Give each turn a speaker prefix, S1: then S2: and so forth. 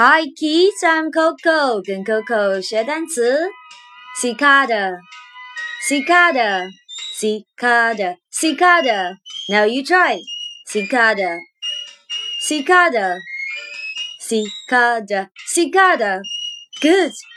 S1: Hi kids, I'm Coco， 跟 Coco 学单词。Cicada, cicada, cicada, cicada. Now you try. Cicada, cicada, cicada, cicada. Good.